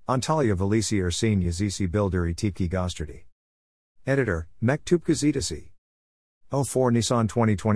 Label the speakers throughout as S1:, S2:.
S1: Antalya Velisi Ersin Yazisi Bildiri Tipki Gostardi. Editor, Mektup Gazetesi. 04 Nisan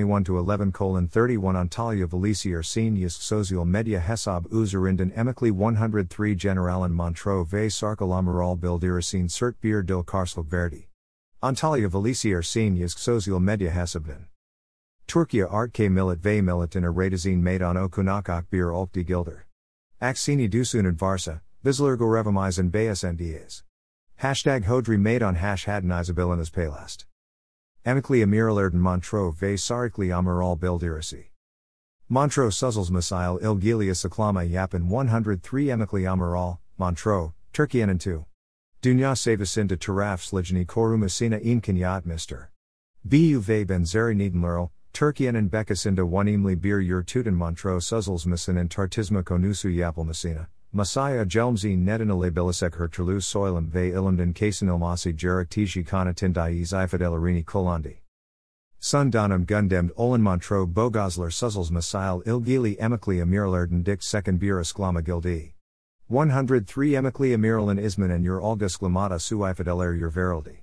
S1: 2021-11:31 Antalya Velisi Ersin Yazk Sozial Medya Hesab Üzerinden Emekli 103 Generalan Montreux ve Sarkal Amiral Bildirisi'nin Cert Bir Dil Karsluk Verdi. Antalya Velisi Ersin Yazk Sozial Medya Hesabından. Türkiye Art Millet ve Milletin Aradizin Meydan Okunakak Bir Olkdi Gilder. Aksini Dusunan Varsa, Bizlergorevamizan Bayasendiyaz. Hashtag Hodri Meydan Hadnizabilinas Palast. Emekli Amiralerden Montreux ve Sarikli Amiral Bildirisi. Montreux Suzels Misail İlgilia Saklama Yapın 103 Emekli Amiral, Montreux, Türkiye'nin 2. Dünya Savasında Taraf Slijni Korumasina İmkaniyat Mr. Bu ve Benzeri Nedenlerl, Türkiye'nin Bekasında Wanimli Bir Yurtuden Montreux Suzels Misinin Tartizma Konusu Yapılmasina. Masaya Jelmzi Nedinalabilisek Hertulus Soilum ve Ilimden Kasinilmasi Jarek Tiji Kanatindai Ifadelarini Kolandi. Sundanum Gundemd Olan Montreux Bogosler Suzels Misail İlgili Emekli Amirlerden Dik Second Bir Isklama Gildi. 103 Emekli Amiralin Ismanen Ur Olga Sklamata Su Ifadeler Ur Verildi.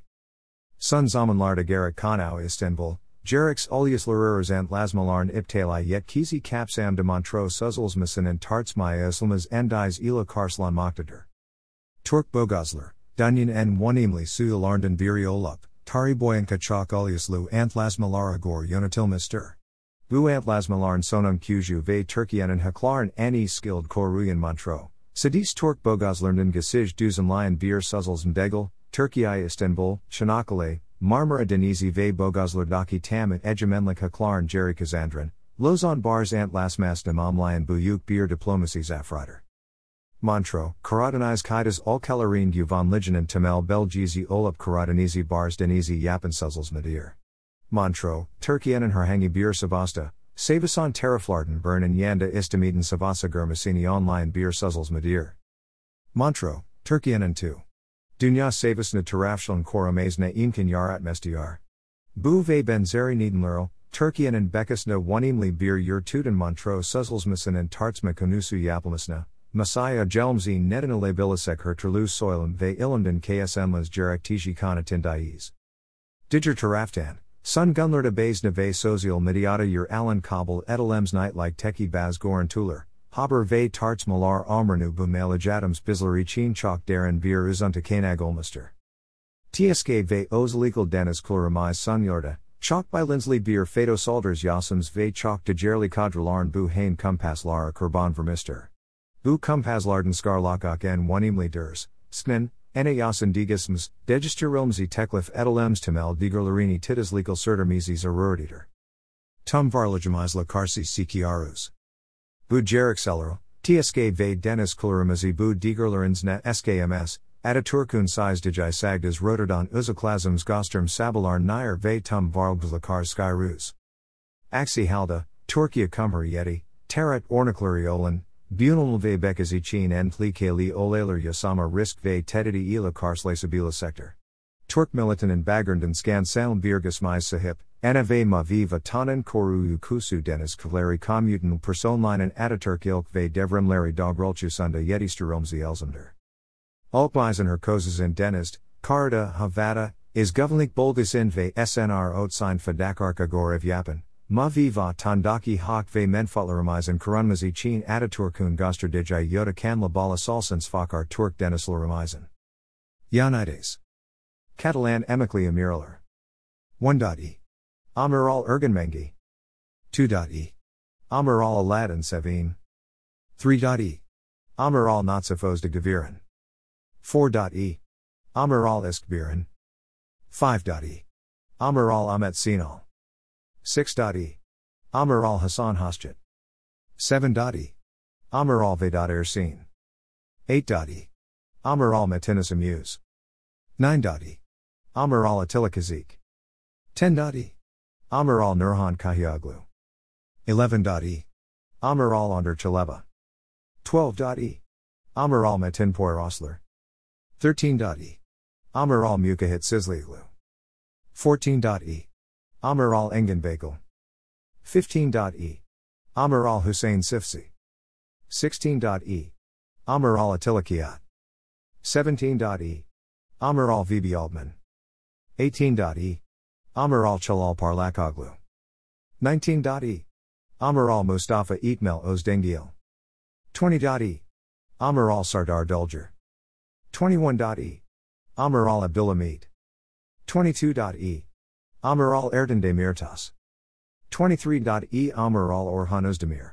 S1: Sun Zamanlarda Gerek Kanau Istanbul. Jerix Ulyaslarers ant Lasmalarn Iptali Yet Kizi Kapsam de Montreux Suzels Misinen Tartsmaya Islamas Endis Ila Karslan Moktader. Turk Bogosler, Dunyan en Wanimli Suyalarnden Biri Olup, Tari Boyan Kachak Ulyaslu ant Lasmalara Gor Yonatil Mister. Bu ant Lasmalarn Sonum Kuju ve Turkiyenin Haklarn Ani Skilled Koruyan Montreux. Sadis Turk Bogoslernden Gasij Duzenlion Bir Suzels Mdegel, Türkiye Istanbul, Çanakkale, Marmara Denizi ve Bogoslardaki Tam Egemenlik Haklarn Jerry Kazandran, Lozan Bars ant Lasmas Namamlayan Buyuk Bir Diplomacy Zafrider. Montreux, Karadeniz Kaidas Ulkalarin Guvan Liganen Temel Belgizi Olup Karadenizi Bars Denizi Yapan Suzels Medir. Montreux, Türkiye'nin Herhangi Bir Savasta, Savasan Taraflarden Bernen Yanda Istamiden Savasa Germasini Online Bir Suzels Medir. Montreux, Türkiye'nin 2. Dünya Savasna Tarafşlan Korumasına İmkanyat Mestiyar. Bu ve Benzeri Nedenlerl, Türkiye'nin Bekasna Wanimli Bir Yurtuden Montreux Suzels Misinin Tartsma Konusu Yapılmasına. Masaya Jelmzi Nedinalabilisek Hertulus Soilum ve Ilimden KSMlas Jarek Tiji Kanatindais. Diger Taraftan, Sun Gunlarda Bazna ve Sozial Mediata Yer Alan Kabul Etalems Nightlik Teki Baz Goran Tuller. Haber ve Tartsmalar Amrenu bu Malajadams Bizleri Chin Chok Darren Bir Uzunta Kanag Olmaster. Tsk ve Özlegal Deniz Kuluramiz Sunyorda, Chok by Lindsley Bir Fado Salders Yasums ve Chok Dejerli Kadralarn bu Hain Kumpaslara Kurban Vermister. Bu Kumpaslarden Skarlakok en Wanimli Ders, Sknen, Ena Yasin Digisms, Degisterilmzi Teklif Etalems Temel Digerlarini Titas Legal Sertermizis Aruruditer. Tum Varlajamizla Karsi Sikiarus. Bu Jarek Seller, Tsk ve Deniz Kulurimizi bu Digerlarensna SKMS, Ataturkun Size Digi Sagdas Rotterdam Uzaklasms Gosterm Sabalarn Nair ve Tum Varlglakar Skyrus. Aksi Halda, Türkiye Cumhuriyeti, Tarat Ornaklari Olan, Bunal ve Bekazichin en Plikali Olaler Yasama Risk ve Tedidi ila Karslasabila Sector. Türk Militanin Baggernden Skansalm Birgasmais Sahip, Ana ve Maviva Tanan Koru Kusu Deniz Kavleri Kommuten Personlinen Ataturk Ilk ve Devremleri Dogrulchusunda Yetisteromzi Elzender. Alpweisen Herkozes in Denizd, Karda Havada, is Governlik Bolgasin ve SNR Otsign Fadakarka Gorev Yapan. Maviva Tandaki Hak ve Menfatlarimizen Kurunmazi Chin Ataturkun Gosterdiji Yoda Kanla Bala Salsens Fakar Turk Denislarimizen. Yanides. Catalan Emekli Amiraler. 1.e. Amiral Ergenmengi. 2.e. Amiral Aladdin Sevin. 3.e. Amiral Natsifos de Gaviran. 4.e. Amiral Iskbiran. 5.e. Amiral Ahmet Sinal. 6.e. Amiral Hassan Hosjet. 7.e. Amiral Vedat Ersin. 8.e. Amiral Metinis Amuse. 9.e. Amiral Attila Kazik. 10.e. Amiral Nurhan Kahyaglu. 11.e. Amiral Under Chaleba. 12.e. Amiral Metin Poyrosler. 13.e. Amiral Mukahit Sizliglu. 14.e. Amiral Engin Bagel. 15.e. Amiral Hussein Sifsi. 16.e. Amiral Attila Kiat. 17.e. Amiral VB Altman. 18.e. Amiral Chalal Parlakoglu. 19.e. Amiral Mustafa Eatmel Ozdengil. 20.e. Amiral Sardar Dulger. 21.e. Amiral Abdullah Meet. 22.e. Amiral Ertan Demirtas. 23.e. Amiral Orhan Özdemir.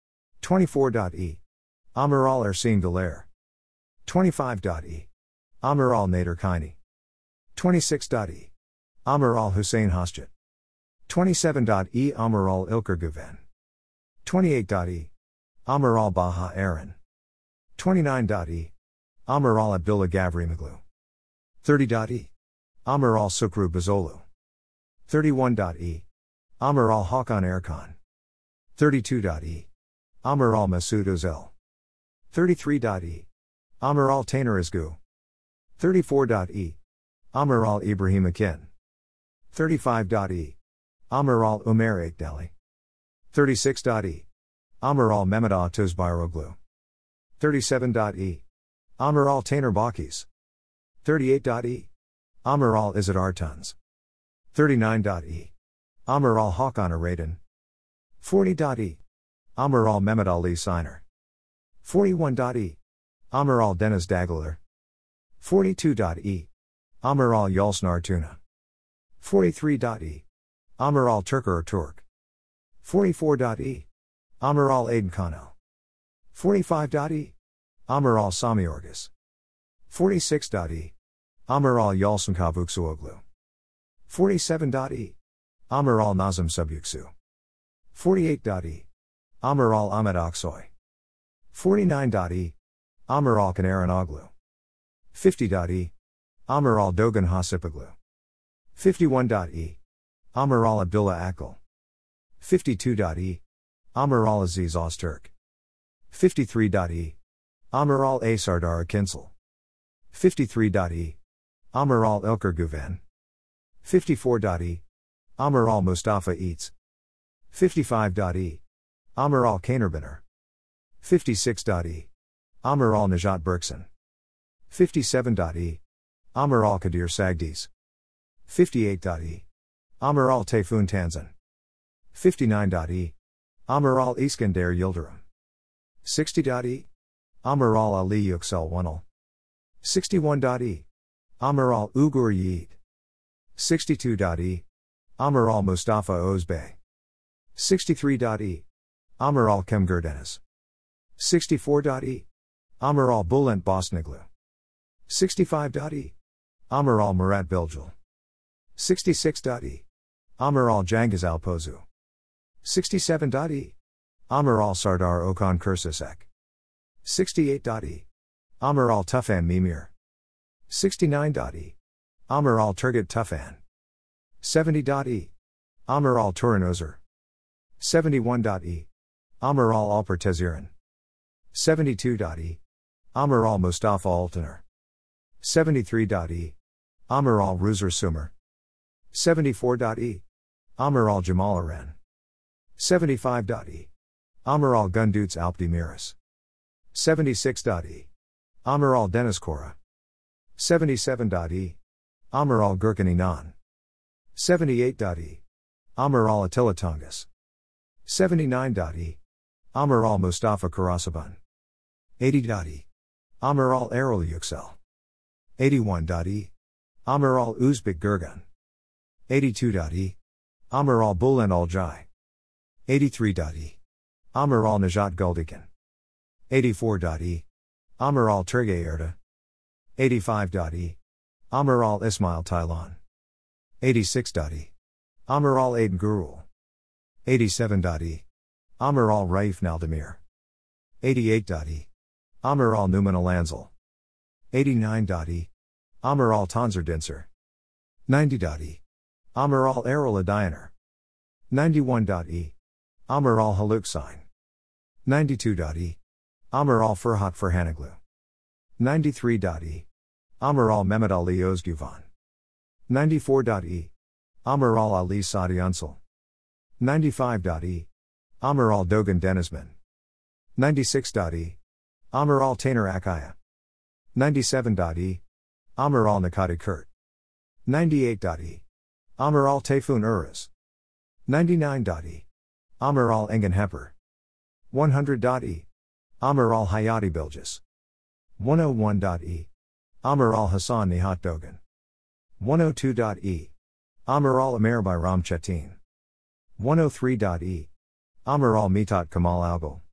S1: 24.e. Amiral Ersin Daler. 25.e. Amiral Nader Kini. 26.e. Amiral Hussein Hosjet. 27.e. Amiral Ilker Guven. 28.e. Amiral Baha Aaron. 29.e. Amiral Abdullah Gavrimoglu. 30.e. Amiral Sukru Bazolu. 31.e. Amiral Hakan Erkan. 32.e. Amiral Masoud Özel. 33.e. Amiral Taner Izgu. 34.e. Amiral Ibrahim Akin. 35.e. Amiral Umer Ekdali. 36.e. Amiral Mehmet Atuz Bayroglu. 37.e. Amiral Taner Bakis. 38.e. Amiral Izzat Artuns. 39.e. Amiral Hakan Aradan. 40.e. Amiral Mehmet Ali Siner. 41.e. Amiral Deniz Dagler. 42.e. Amiral Yalsnar Tuna. 43.e. Amiral Turker Turk. 44.e. Amiral Aden Kano. 45.e. Amiral Sami Orgis. 46.e. Amiral Yalsın Kavuksuoglu. 47.e. Amiral Nazım Subyuksu. 48.e. Amiral Ahmet Aksoy. 49.e. Amiral Kanaran Oglu. 50.e. Amiral Dogan Hasipoglu. 51.e. Amiral Abdullah Akil. 52.e. Amiral Aziz Öztürk. 53.e. Amiral A. Sardar Akinsel. 53.e. Amiral Ilker Guven. 54.e. Amiral Mustafa Eats. 55.e. Amiral Kanerbiner. 56.e. Amiral Najat Berkson. 57.e. Amiral Kadir Sagdiz. 58.e. Amiral Tayfun Tanzan. 59.e. Amiral Iskender Yildirim. 60.e. Amiral Ali Yüksel Wanal. 61.e. Amiral Ugur Yiğit. 62.e. Amiral Mustafa Özbey. 63.e. Amiral Kemger Deniz. 64.e. Amiral Bulent Bosniglu. 65.e. Amiral Murat Bilgil. 66.e. Amiral Cengiz Alpozu. 67.e. Amiral Sardar Okan Kursisek. 68.e. Amiral Tufan Mimir. 69.e. Amiral Turgut Tufan. 70.e. Amiral Turan Özer. 71.e. Amiral Alper Teziran. 72.e. Amiral Mustafa Altaner. 73.e. Amiral Ruzer Sumer. 74.e. Amiral Jamal Aren. 75.e. Amiral Gunduts Alpdemiris. 76.e. Amiral Deniz Kora. 77.e. Amiral Gurkan Inan. 78.e. Amiral Attila Tungus. 79.e. Amiral Mustafa Karasaban. 80.e. Amiral Erol Yüksel. 81.e. Amiral Uzbek Gurgun. 82.e. Amiral Bulent Olcay. 83.e. Amiral Najat Guldikan. 84.e. Amiral Turgay Erda. 85.e. Amiral Ismail Taylan. 86.e. Amiral Aden Gurul. 87.e. Amiral Raif Naldemir. 88.e. Amiral Numan Alanzal. 89.e. Amiral Tanzer Dinser. 90.e. Amiral Erol Adayaner. 91.e. Amiral Haluk Sain. 92.e. Amiral Ferhat Ferhanoglu. 93.e. Amiral Mehmet Ali Özguvan. 94.e. Amiral Ali Sadi Unsal. 95.e. Amiral Dogan Denizman. 96.e. Amiral Taner Akaya. 97.e. Amir al Nakati Kurt. 98.e. Amir al Tayfun Uras. 99.e. Amir al Engen Hepper. 100.e. Amir al Hayati Bilgis. 101.e. Amir al Hassan Nihat Dogan. 102.e. Amir al Amer by Ram Chetin. 103.e. Amir al Mitat Kamal Algol.